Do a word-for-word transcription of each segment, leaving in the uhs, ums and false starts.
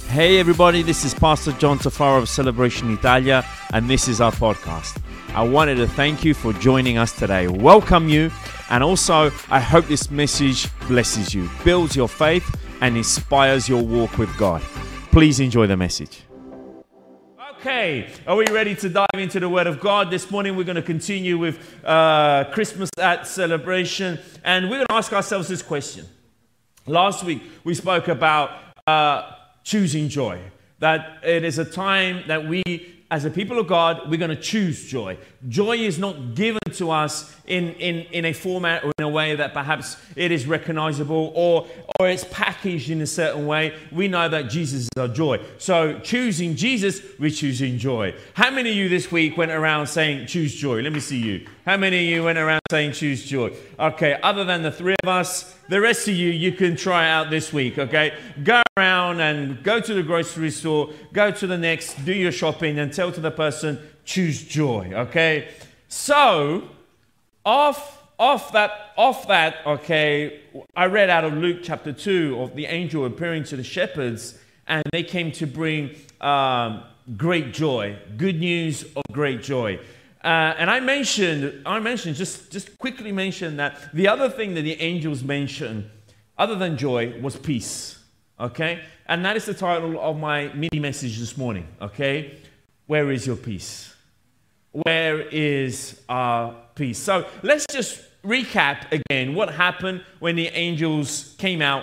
Hey everybody, this is Pastor John Tafaro of Celebration Italia, and this is our podcast. I wanted to thank you for joining us today, welcome you, and also I hope this message blesses you, builds your faith, and inspires your walk with God. Please enjoy the message. Okay, are we ready to dive into the Word of God? This morning we're going to continue with uh, Christmas at Celebration, and we're going to ask ourselves this question. Last week we spoke about uh, choosing joy, that it is a time that we, as a people of God, we're going to choose joy. Joy is not given to us in, in, in a format or in a way that perhaps it is recognizable or, or it's packaged in a certain way. We know that Jesus is our joy. So choosing Jesus, we're choosing joy. How many of you this week went around saying, choose joy? Let me see you. How many of you went around saying, choose joy? Okay, other than the three of us, the rest of you, you can try it out this week, okay? Go around and go to the grocery store, go to the next, do your shopping, and tell to the person, choose joy, okay? So, off, off that, off that, okay, I read out of Luke chapter two of the angel appearing to the shepherds, and they came to bring um, great joy, good news of great joy. Uh, and I mentioned, I mentioned, just, just quickly mentioned that the other thing that the angels mentioned, other than joy, was peace, okay? And that is the title of my mini message this morning, okay? Where is your peace? Where is our peace? So let's just recap again what happened when the angels came out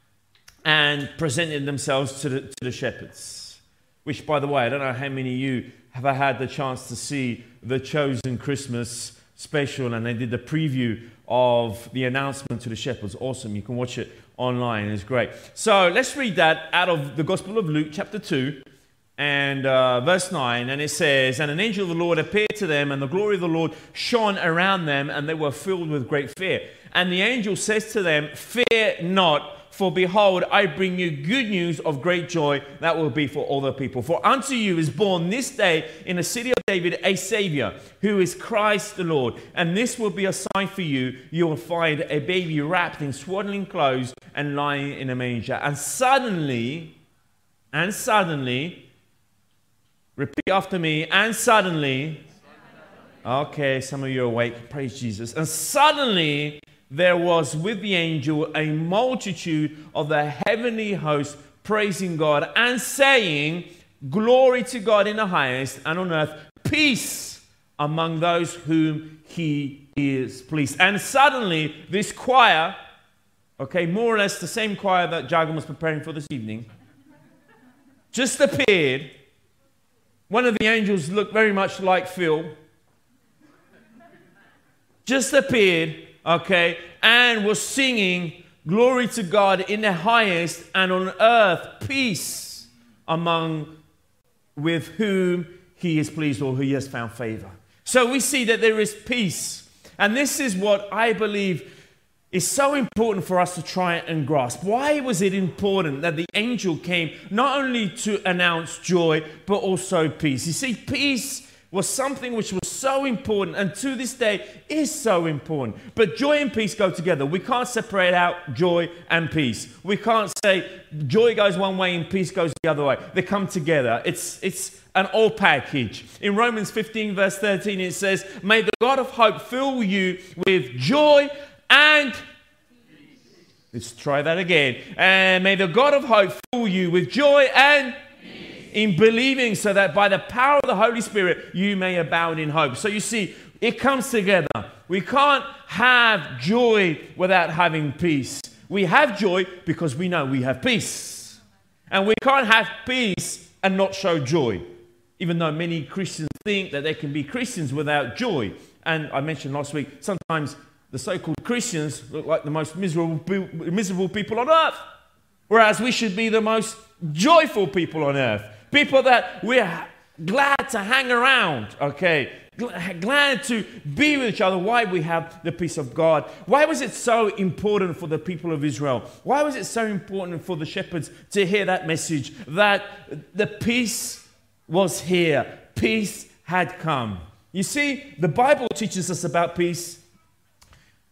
and presented themselves to the, to the shepherds. Which, by the way, I don't know how many of you have I had the chance to see the Chosen Christmas special, and they did the preview of the announcement to the shepherds. Awesome. You can watch it online. It's great. So let's read that out of the Gospel of Luke, chapter two, and uh, verse nine. And it says, "And an angel of the Lord appeared to them, and the glory of the Lord shone around them, and they were filled with great fear. And the angel says to them, 'Fear not, for behold, I bring you good news of great joy that will be for all the people. For unto you is born this day in the city of David a Savior, who is Christ the Lord. And this will be a sign for you. You will find a baby wrapped in swaddling clothes and lying in a manger.' And suddenly, and suddenly, repeat after me, and suddenly, okay, some of you are awake, praise Jesus. And suddenly, there was with the angel a multitude of the heavenly host praising God and saying, 'Glory to God in the highest, and on earth peace among those whom he is pleased.'" And suddenly this choir, okay, more or less the same choir that Jagan was preparing for this evening, just appeared. One of the angels looked very much like Phil. Just appeared. Okay, and was singing, "Glory to God in the highest, and on earth peace among with whom he is pleased," or who he has found favor. So we see that there is peace. And this is what I believe is so important for us to try and grasp. Why was it important that the angel came not only to announce joy, but also peace? You see, peace was something which was so important, and to this day is so important. But joy and peace go together. We can't separate out joy and peace. We can't say joy goes one way and peace goes the other way. They come together. It's it's an all package. In Romans fifteen verse thirteen it says, "May the God of hope fill you with joy and..." Let's try that again. "And may the God of hope fill you with joy and..." in believing, so that by the power of the Holy Spirit, you may abound in hope. So you see, it comes together. We can't have joy without having peace. We have joy because we know we have peace. And we can't have peace and not show joy, even though many Christians think that they can be Christians without joy. And I mentioned last week, sometimes the so-called Christians look like the most miserable, miserable people on earth, whereas we should be the most joyful people on earth. People that we're glad to hang around, okay? Glad to be with each other. Why? We have the peace of God. Why was it so important for the people of Israel? Why was it so important for the shepherds to hear that message, that the peace was here? Peace had come. You see, the Bible teaches us about peace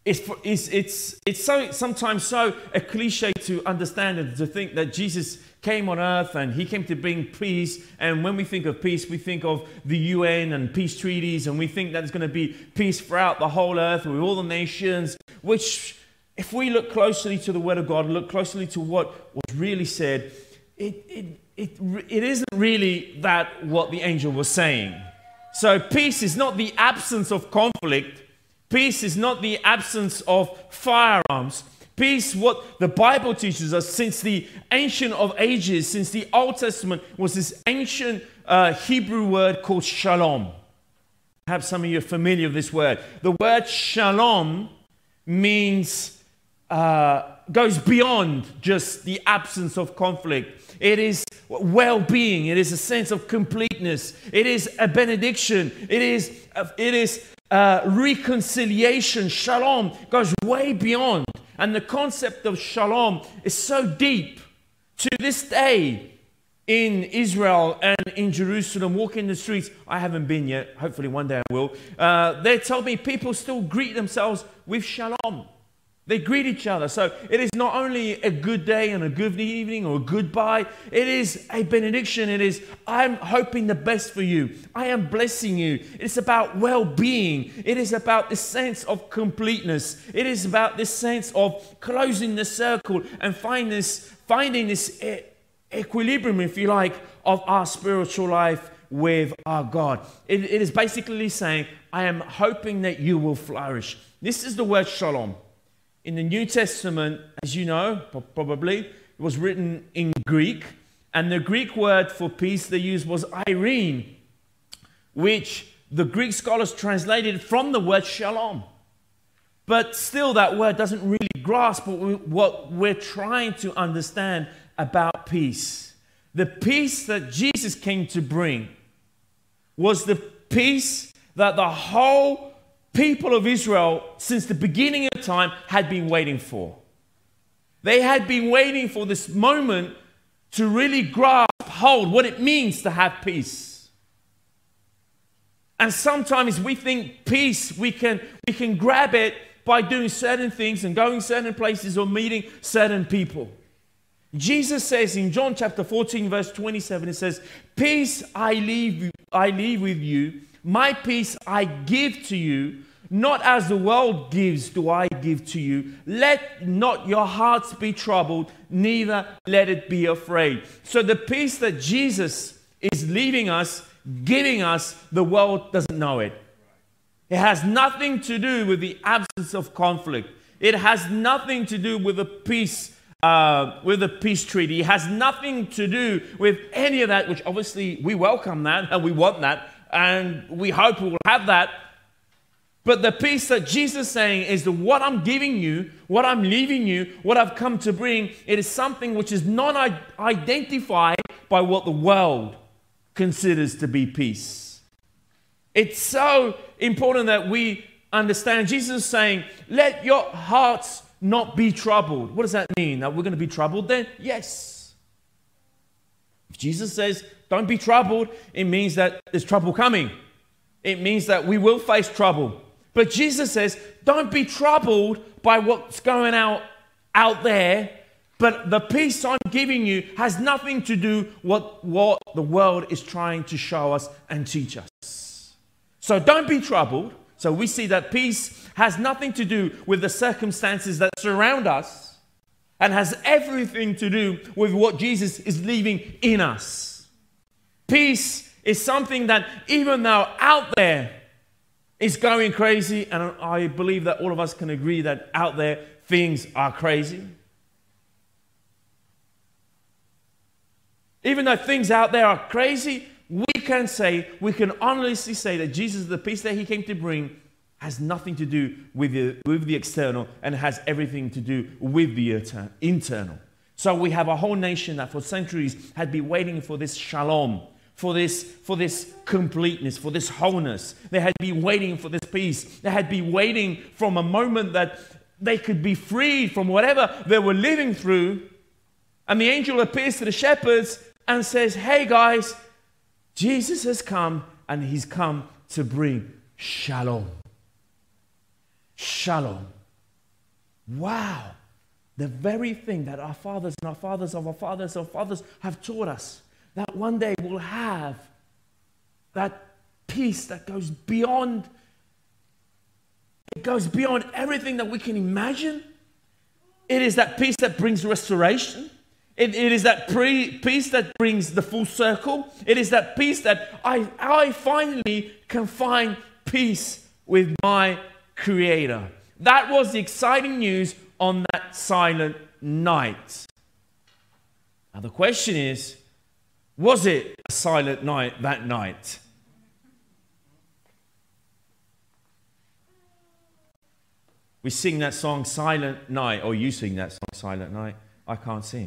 It's, for, it's, it's, it's so sometimes so a cliche to understand and to think that Jesus came on earth and he came to bring peace. And when we think of peace, we think of the U N and peace treaties, and we think that there's going to be peace throughout the whole earth with all the nations, which, if we look closely to the Word of God, look closely to what was really said, it, it, it, it isn't really that what the angel was saying. So peace is not the absence of conflict. Peace is not the absence of firearms. Peace, what the Bible teaches us since the ancient of ages, since the Old Testament, was this ancient uh, Hebrew word called shalom. Perhaps some of you are familiar with this word. The word shalom means, uh, goes beyond just the absence of conflict. It is well-being. It is a sense of completeness. It is a benediction. It is, uh, it is uh, reconciliation. Shalom goes way beyond. And the concept of shalom is so deep. To this day, in Israel and in Jerusalem, walking the streets, I haven't been yet, hopefully one day I will, uh, they tell me people still greet themselves with shalom. They greet each other. So it is not only a good day and a good evening or a goodbye, it is a benediction. It is, I'm hoping the best for you. I am blessing you. It's about well-being. It is about this sense of completeness. It is about this sense of closing the circle and find this, finding this e- equilibrium, if you like, of our spiritual life with our God. It, it is basically saying, I am hoping that you will flourish. This is the word shalom. In the New Testament, as you know, probably, it was written in Greek. And the Greek word for peace they used was eirene, which the Greek scholars translated from the word shalom. But still, that word doesn't really grasp what we're trying to understand about peace. The peace that Jesus came to bring was the peace that the whole people of Israel, since the beginning of time, had been waiting for. They had been waiting for this moment to really grasp hold what it means to have peace. And sometimes we think peace, we can, we can grab it by doing certain things and going certain places or meeting certain people. Jesus says in John chapter fourteen, verse twenty-seven, it says, peace I leave, I leave with you, my peace I give to you, not as the world gives do I give to you. Let not your hearts be troubled, neither let it be afraid. So the peace that Jesus is leaving us, giving us, the world doesn't know it. It has nothing to do with the absence of conflict. It has nothing to do with the peace, uh, with the peace treaty. It has nothing to do with any of that, which obviously we welcome that and we want that. And we hope we will have that. But the peace that Jesus is saying is that what I'm giving you, what I'm leaving you, what I've come to bring, it is something which is not identified by what the world considers to be peace. It's so important that we understand. Jesus is saying, let your hearts not be troubled. What does that mean? That we're going to be troubled then? Yes. If Jesus says, don't be troubled, it means that there's trouble coming. It means that we will face trouble. But Jesus says, don't be troubled by what's going out out there, but the peace I'm giving you has nothing to do with what the world is trying to show us and teach us. So don't be troubled. So we see that peace has nothing to do with the circumstances that surround us and has everything to do with what Jesus is leaving in us. Peace is something that even though out there is going crazy, and I believe that all of us can agree that out there things are crazy. Even though things out there are crazy, we can say, we can honestly say that Jesus, the peace that he came to bring, has nothing to do with the, with the external and has everything to do with the internal. So we have a whole nation that for centuries had been waiting for this shalom, for this, for this completeness, for this wholeness. They had been waiting for this peace. They had been waiting from a moment that they could be freed from whatever they were living through. And the angel appears to the shepherds and says, hey guys, Jesus has come and he's come to bring shalom. Shalom. wow, the very thing that our fathers and our fathers of our fathers of our fathers have taught us, that one day we'll have that peace that goes beyond, it goes beyond everything that we can imagine. It is that peace that brings restoration. It, it is that pre, peace that brings the full circle. It is that peace that I, I finally can find peace with my Creator. That was the exciting news on that silent night. Now the question is, was it a silent night that night? We sing that song, Silent Night, or you sing that song, Silent Night. I can't sing.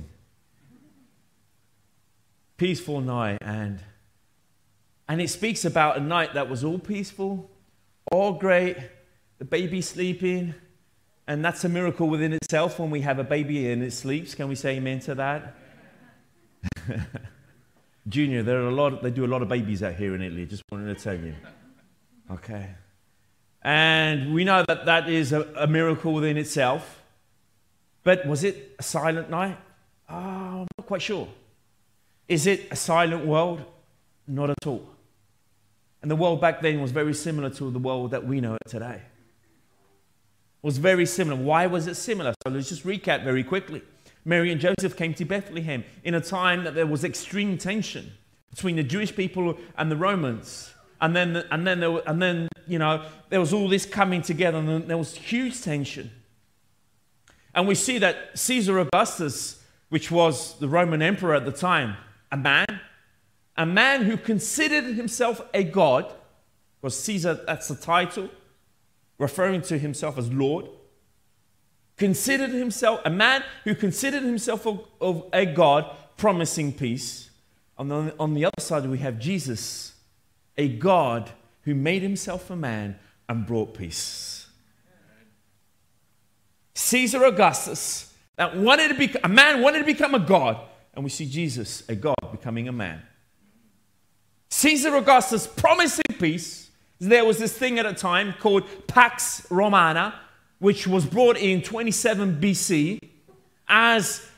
Peaceful night, and, and it speaks about a night that was all peaceful, all great, the baby sleeping, and that's a miracle within itself when we have a baby and it sleeps. Can we say amen to that? Junior, there are a lot. Of, they do a lot of babies out here in Italy. Just wanted to tell you. Okay. And we know that that is a, a miracle within itself. But was it a silent night? Oh, I'm not quite sure. Is it a silent world? Not at all. And the world back then was very similar to the world that we know today. It was very similar. Why was it similar? So let's just recap very quickly. Mary and Joseph came to Bethlehem in a time that there was extreme tension between the Jewish people and the Romans. And then, and then, there were, and then, you know, there was all this coming together, and there was huge tension. And we see that Caesar Augustus, which was the Roman emperor at the time, a man, a man who considered himself a god, because Caesar, that's the title, referring to himself as Lord, considered himself, a man who considered himself of, of a god, promising peace. And on, on the other side, we have Jesus, a God who made himself a man and brought peace. Caesar Augustus, that wanted to be a man, wanted to become a God, and we see Jesus, a God, becoming a man. Caesar Augustus promising peace. There was this thing at a time called Pax Romana, which was brought in twenty-seven B C as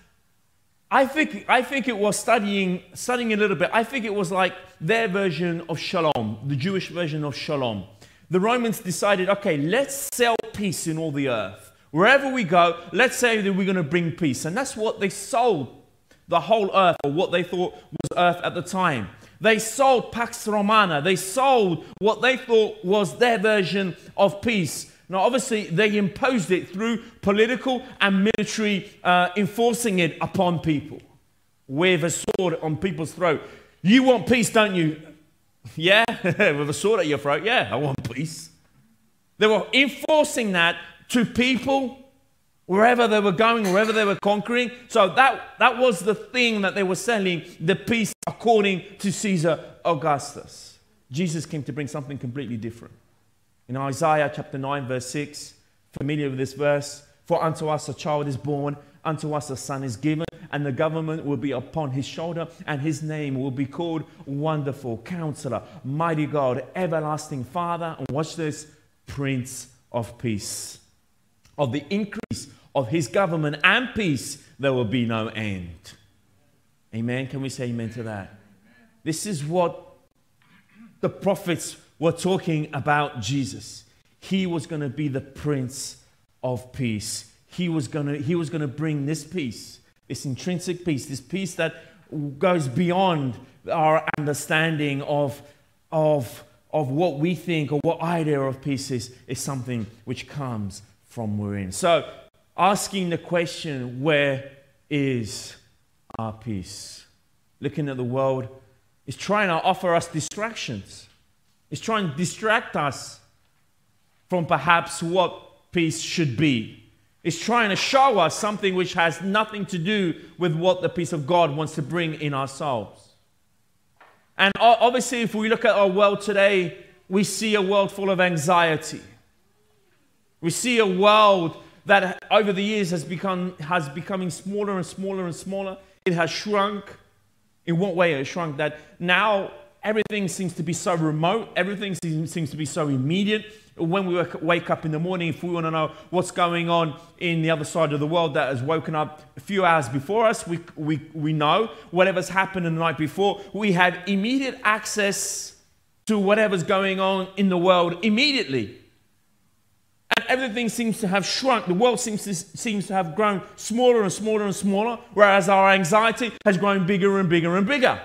I think, I think it was studying, studying a little bit. I think it was like their version of Shalom, the Jewish version of Shalom. The Romans decided, okay, let's sell peace in all the earth. Wherever we go, let's say that we're going to bring peace. And that's what they sold the whole earth, or what they thought was earth at the time. They sold Pax Romana. They sold what they thought was their version of peace. Now, obviously, they imposed it through political and military uh, enforcing it upon people with a sword on people's throat. You want peace, don't you? Yeah, with a sword at your throat. Yeah, I want peace. They were enforcing that to people wherever they were going, wherever they were conquering. So that, that was the thing that they were selling, the peace according to Caesar Augustus. Jesus came to bring something completely different. In Isaiah chapter nine, verse six, familiar with this verse, for unto us a child is born, unto us a son is given, and the government will be upon his shoulder, and his name will be called Wonderful, Counselor, Mighty God, Everlasting Father, and watch this, Prince of Peace. Of the increase of his government and peace, there will be no end. Amen? Can we say amen to that? This is what the prophets were talking about Jesus. He was going to be the Prince of Peace. He was going to, he was going to bring this peace, this intrinsic peace, this peace that goes beyond our understanding of, of, of what we think or what idea of peace is, is something which comes from within. So, asking the question, where is our peace? Looking at the world is trying to offer us distractions. It's trying to distract us from perhaps what peace should be. It's trying to show us something which has nothing to do with what the peace of God wants to bring in our souls. And obviously, if we look at our world today, we see a world full of anxiety. We see a world that over the years has become has becoming smaller and smaller and smaller. It has shrunk. In what way it has shrunk? That now everything seems to be so remote. Everything seems, seems to be so immediate. When we wake up in the morning, if we want to know what's going on in the other side of the world that has woken up a few hours before us, we, we, we know whatever's happened the night before. We have immediate access to whatever's going on in the world immediately. And everything seems to have shrunk. The world seems to, seems to have grown smaller and smaller and smaller, whereas our anxiety has grown bigger and bigger and bigger.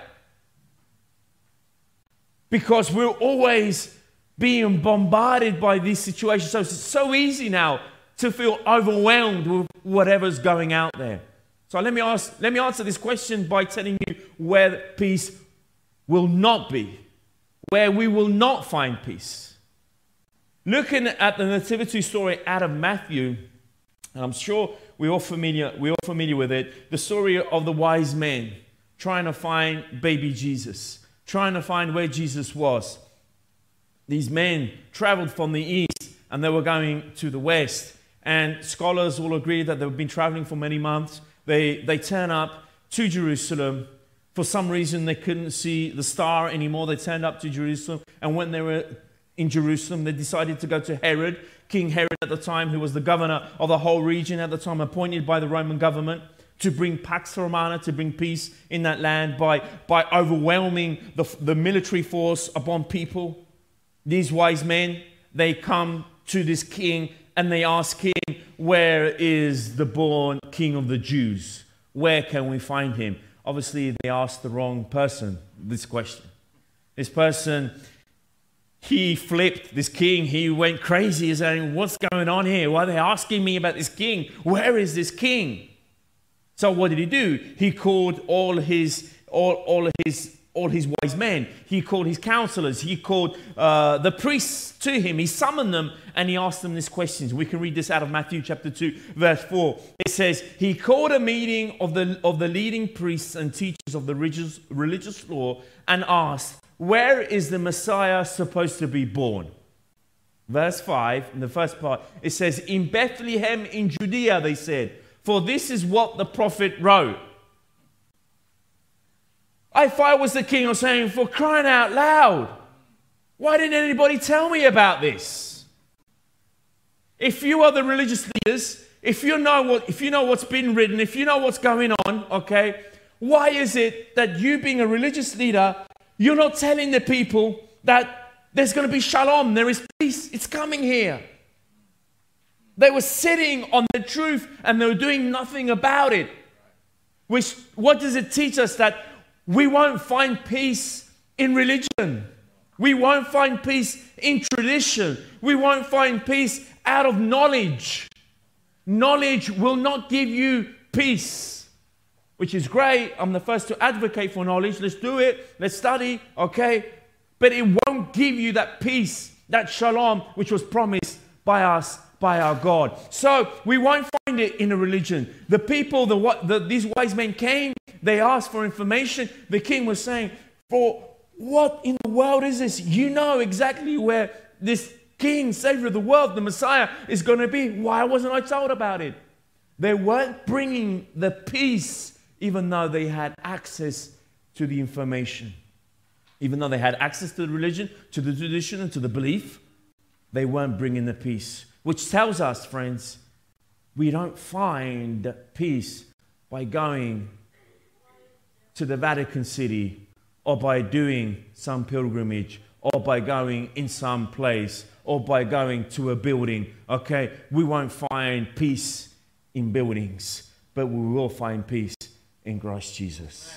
Because we're always being bombarded by these situations. So it's so easy now to feel overwhelmed with whatever's going out there. So let me ask, let me answer this question by telling you where peace will not be, where we will not find peace. Looking at the nativity story out of Matthew, and I'm sure we're all familiar, we're all familiar with it, the story of the wise men trying to find baby Jesus, trying to find where Jesus was. These men traveled from the east and they were going to the west. And scholars all agree that they've been traveling for many months. They, they turn up to Jerusalem. For some reason, they couldn't see the star anymore. They turned up to Jerusalem. And when they were in Jerusalem, they decided to go to Herod, King Herod at the time, who was the governor of the whole region at the time, appointed by the Roman government to bring Pax Romana, to bring peace in that land by, by overwhelming the, the military force upon people. These wise men, they come to this king and they ask him, where is the born king of the Jews? Where can we find him? Obviously, they asked the wrong person this question. This person, he flipped, this king, he went crazy. He's saying, what's going on here? Why are they asking me about this king? Where is this king? So what did he do? He called all his, all, all his, all his wise men. He called his counselors. He called uh, the priests to him. He summoned them and he asked them these questions. We can read this out of Matthew chapter two, verse four. It says, he called a meeting of the, of the leading priests and teachers of the religious, religious law and asked, where is the Messiah supposed to be born? Verse five, in the first part, it says, in Bethlehem in Judea, they said, for this is what the prophet wrote. If I was the king, I was saying, for crying out loud, why didn't anybody tell me about this? If you are the religious leaders, if you know what, if you know what's been written, if you know what's going on, okay, why is it that you being a religious leader, you're not telling the people that there's going to be shalom, there is peace, it's coming here? They were sitting on the truth and they were doing nothing about it. Which, what does it teach us? That we won't find peace in religion. We won't find peace in tradition. We won't find peace out of knowledge. Knowledge will not give you peace, which is great. I'm the first to advocate for knowledge. Let's do it. Let's study, okay? But it won't give you that peace, that shalom, which was promised by us, by our God. So we won't find it in a religion. The people, the, what, the these wise men came, they asked for information. The king was saying, for what in the world is this? You know exactly where this king, savior of the world, the Messiah, is going to be. Why wasn't I told about it? They weren't bringing the peace, even though they had access to the information. Even though they had access to the religion, to the tradition, and to the belief, they weren't bringing the peace. Which tells us, friends, we don't find peace by going to the Vatican City or by doing some pilgrimage or by going in some place or by going to a building. Okay, we won't find peace in buildings, but we will find peace in Christ Jesus.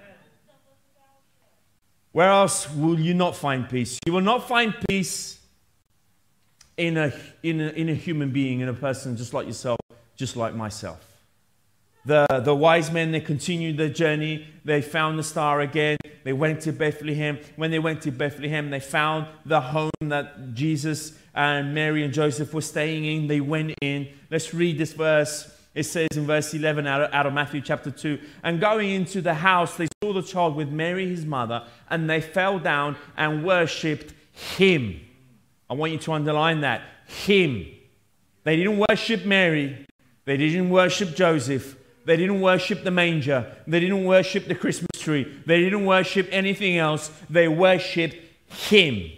Where else will you not find peace? You will not find peace in a, in a, in a human being, in a person just like yourself, just like myself. The, the wise men, they continued their journey. They found the star again. They went to Bethlehem. When they went to Bethlehem, they found the home that Jesus and Mary and Joseph were staying in. They went in. Let's read this verse. It says in verse eleven out of, out of Matthew chapter two, and going into the house, they saw the child with Mary, his mother, and they fell down and worshipped him. I want you to underline that. Him. They didn't worship Mary. They didn't worship Joseph. They didn't worship the manger. They didn't worship the Christmas history. They didn't worship anything else. They worshipped him.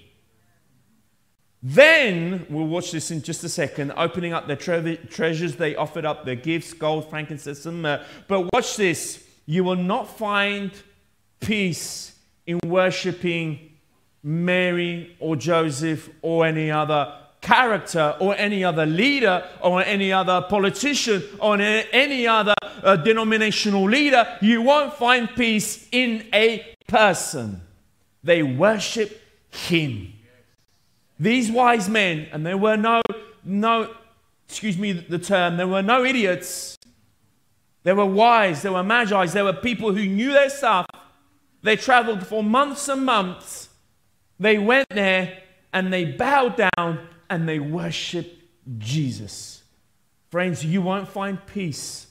Then, we'll watch this in just a second, opening up their tre- treasures, they offered up their gifts, gold, frankincense, and myrrh. But watch this. You will not find peace in worshipping Mary or Joseph or any other character or any other leader or any other politician or any other uh, denominational leader. You won't find peace in a person. They worship him. These wise men, and there were no, no, excuse me the term, there were no idiots. They were wise, they were magi, they were people who knew their stuff. They traveled for months and months. They went there and they bowed down and they worshiped Jesus. Friends, you won't find peace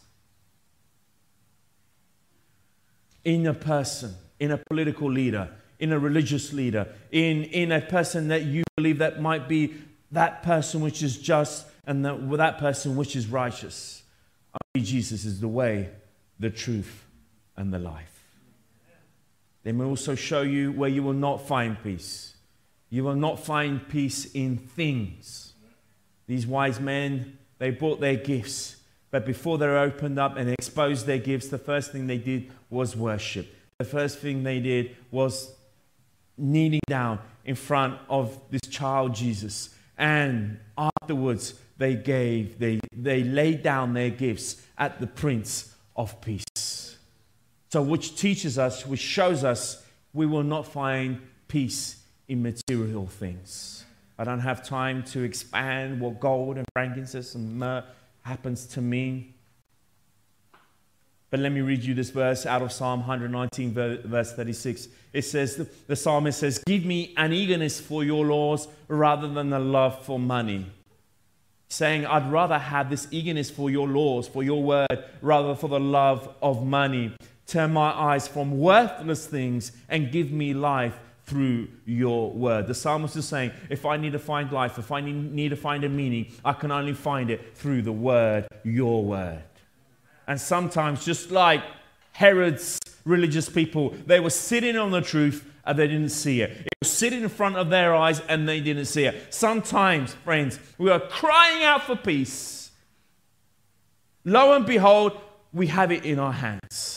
in a person, in a political leader, in a religious leader, in, in a person that you believe that might be that person which is just and that, that person which is righteous. Only Jesus is the way, the truth, and the life. They may also show you where you will not find peace. You will not find peace in things. These wise men, they brought their gifts, but before they opened up and exposed their gifts, the first thing they did was worship. The first thing they did was kneeling down in front of this child Jesus, and afterwards they gave they they laid down their gifts at the Prince of Peace. So which teaches us, which shows us we will not find peace in material things. I don't have time to expand what gold and frankincense and myrrh happens to mean. But let me read you this verse out of Psalm one nineteen, verse thirty-six. It says, the psalmist says, give me an eagerness for your laws rather than a love for money. Saying, I'd rather have this eagerness for your laws, for your word, rather for the love of money. Turn my eyes from worthless things and give me life through your word. The psalmist is saying, if I need to find life, if I need to find a meaning, I can only find it through the word, your word. And sometimes, just like Herod's religious people, they were sitting on the truth and they didn't see it. It was sitting in front of their eyes and they didn't see it. Sometimes, friends, we are crying out for peace. Lo and behold, we have it in our hands.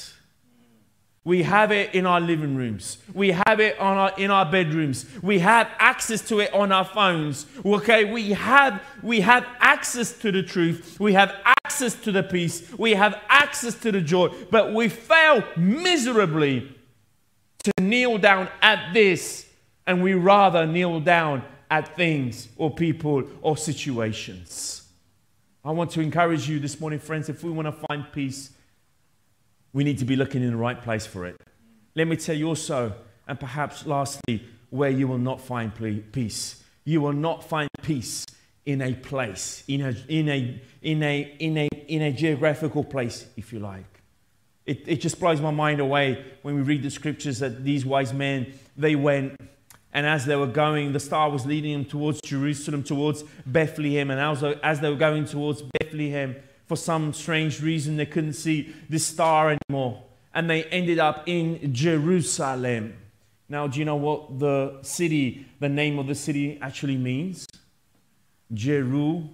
We have it in our living rooms. We have it on our, in our bedrooms. We have access to it on our phones. Okay, we have, we have access to the truth. We have access to the peace. We have access to the joy. But we fail miserably to kneel down at this, and we rather kneel down at things or people or situations. I want to encourage you this morning, friends, if we want to find peace, we need to be looking in the right place for it. Let me tell you also, and perhaps lastly, where you will not find peace. You will not find peace in a place, in a in a in a in a in a geographical place, if you like. It it just blows my mind away when we read the scriptures that these wise men, they went, and as they were going, the star was leading them towards Jerusalem, towards Bethlehem, and as as they were going towards Bethlehem, for some strange reason, they couldn't see this star anymore. And they ended up in Jerusalem. Now, do you know what the city, the name of the city actually means? Jerusalem.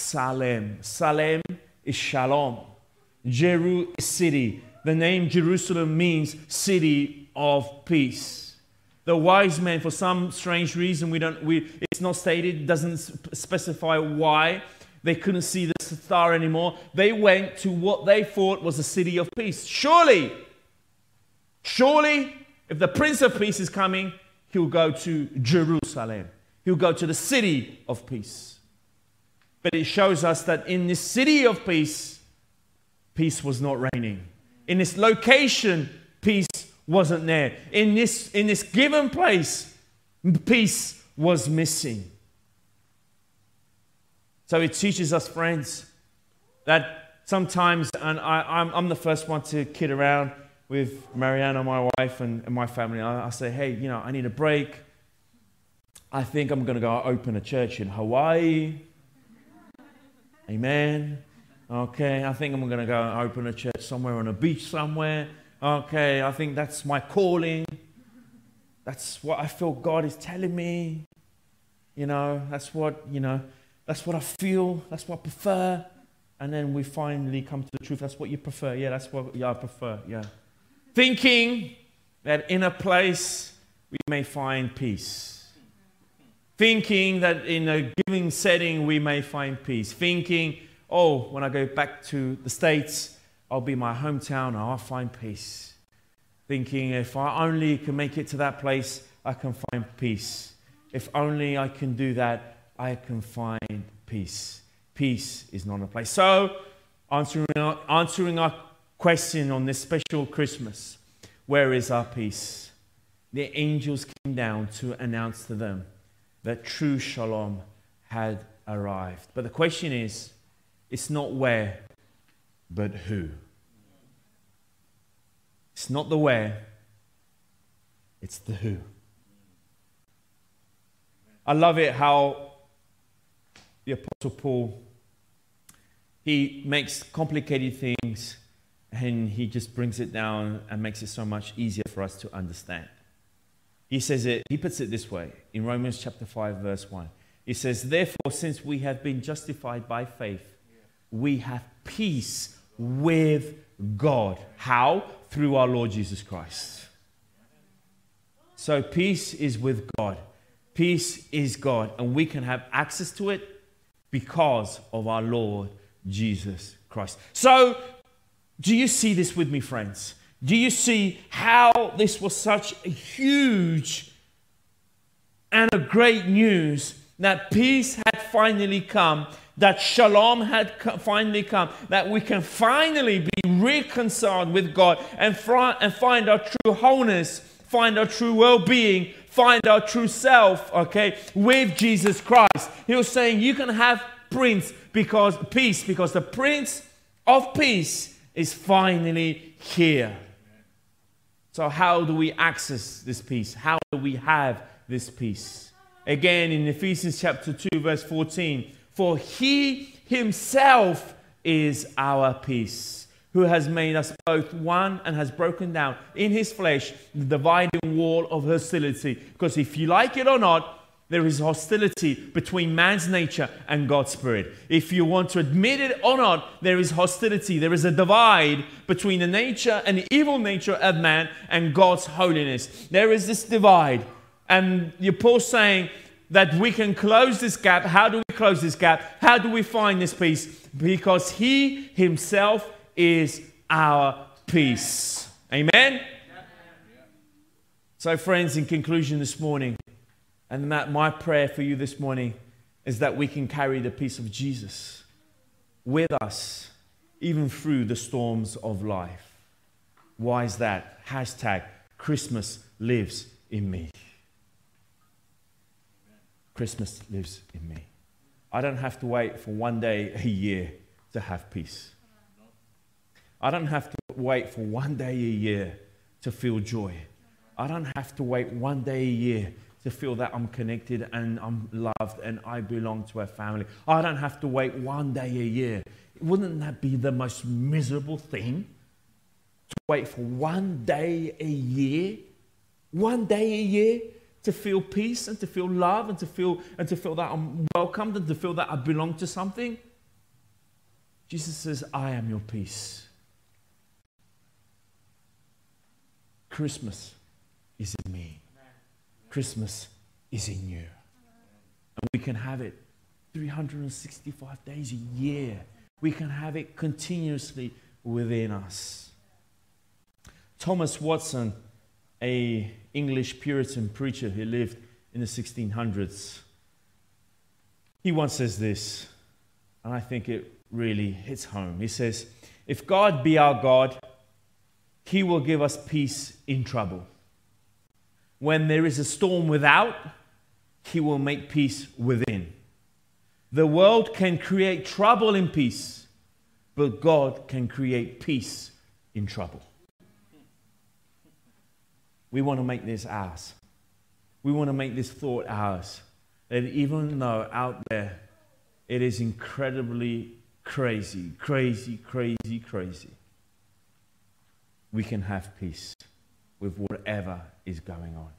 Salem is shalom. Jeru is city. The name Jerusalem means city of peace. The wise men, for some strange reason, we don't. We it's not stated, doesn't specify why. They couldn't see the star anymore. They went to what they thought was a city of peace. Surely, surely, if the Prince of Peace is coming, he'll go to Jerusalem. He'll go to the city of peace. But it shows us that in this city of peace, peace was not reigning. In this location, peace wasn't there. In this, in this given place, peace was missing. So it teaches us, friends, that sometimes, and I, I'm, I'm the first one to kid around with Mariana, my wife, and, and my family. I, I say, hey, you know, I need a break. I think I'm going to go open a church in Hawaii. Amen. Okay, I think I'm going to go open a church somewhere on a beach somewhere. Okay, I think that's my calling. That's what I feel God is telling me. You know, that's what, you know, that's what I feel. That's what I prefer. And then we finally come to the truth. That's what you prefer. Yeah, that's what yeah, I prefer. Yeah. Thinking that in a place we may find peace. Thinking that in a given setting we may find peace. Thinking, oh, when I go back to the States, I'll be my hometown and I'll find peace. Thinking if I only can make it to that place, I can find peace. If only I can do that, I can find peace. Peace is not a place. So, answering our, answering our question on this special Christmas, where is our peace? The angels came down to announce to them that true shalom had arrived. But the question is, it's not where, but who. It's not the where, it's the who. I love it how the Apostle Paul, he makes complicated things and he just brings it down and makes it so much easier for us to understand. He says it, he puts it this way in Romans chapter five, verse one. He says, therefore, since we have been justified by faith, we have peace with God. How? Through our Lord Jesus Christ. So peace is with God. Peace is God. And we can have access to it because of our Lord Jesus Christ. So, do you see this with me, friends? Do you see how this was such a huge and a great news that peace had finally come, that shalom had finally come, that we can finally be reconciled with God and, fr- and find our true wholeness, find our true well-being, find our true self, okay, with Jesus Christ. He was saying you can have Prince because peace, because the Prince of Peace is finally here. So how do we access this peace? How do we have this peace? Again, in Ephesians chapter two, verse fourteen, for he himself is our peace, who has made us both one and has broken down in his flesh the dividing wall of hostility. Because if you like it or not, there is hostility between man's nature and God's Spirit. If you want to admit it or not, there is hostility. There is a divide between the nature and the evil nature of man and God's holiness. There is this divide. And the Apostle saying that we can close this gap. How do we close this gap? How do we find this peace? Because he himself is our peace. Amen? So friends, in conclusion this morning, and that my prayer for you this morning is that we can carry the peace of Jesus with us, even through the storms of life. Why is that? Hashtag Christmas lives in me. Christmas lives in me. I don't have to wait for one day a year to have peace. I don't have to wait for one day a year to feel joy. I don't have to wait one day a year to feel that I'm connected and I'm loved and I belong to a family. I don't have to wait one day a year. Wouldn't that be the most miserable thing? To wait for one day a year? One day a year to feel peace and to feel love and to feel and to feel that I'm welcomed and to feel that I belong to something? Jesus says, I am your peace. Christmas is in me. Christmas is in you. And we can have it three hundred sixty-five days a year. We can have it continuously within us. Thomas Watson, an English Puritan preacher who lived in the sixteen hundreds, he once says this, and I think it really hits home. He says, if God be our God, he will give us peace in trouble. When there is a storm without, he will make peace within. The world can create trouble in peace, but God can create peace in trouble. We want to make this ours. We want to make this thought ours. That even though out there it is incredibly crazy, crazy, crazy, crazy, we can have peace with whatever is going on.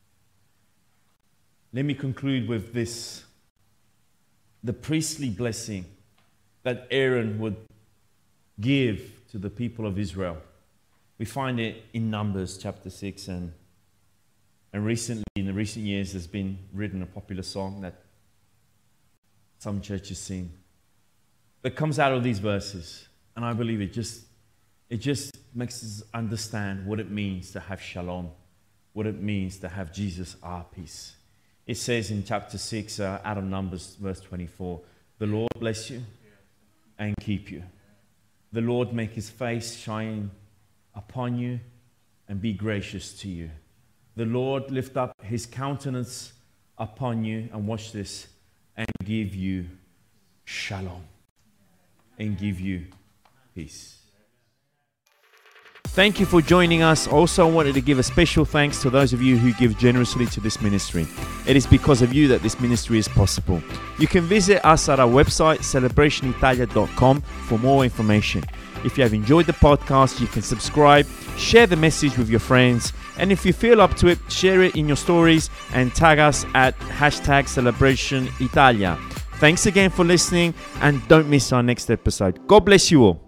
Let me conclude with this. The priestly blessing that Aaron would give to the people of Israel. We find it in Numbers chapter six, and and recently, in the recent years, there's been written a popular song that some churches sing that comes out of these verses, and I believe it just it just makes us understand what it means to have shalom, what it means to have Jesus our peace. It says in chapter six, uh, out of Numbers, verse twenty-four, the Lord bless you and keep you. The Lord make his face shine upon you and be gracious to you. The Lord lift up his countenance upon you, and watch this, and give you shalom, and give you peace. Thank you for joining us. Also, I wanted to give a special thanks to those of you who give generously to this ministry. It is because of you that this ministry is possible. You can visit us at our website, celebration italia dot com, for more information. If you have enjoyed the podcast, you can subscribe, share the message with your friends, and if you feel up to it, share it in your stories and tag us at hashtag Celebration Italia. Thanks again for listening, and don't miss our next episode. God bless you all.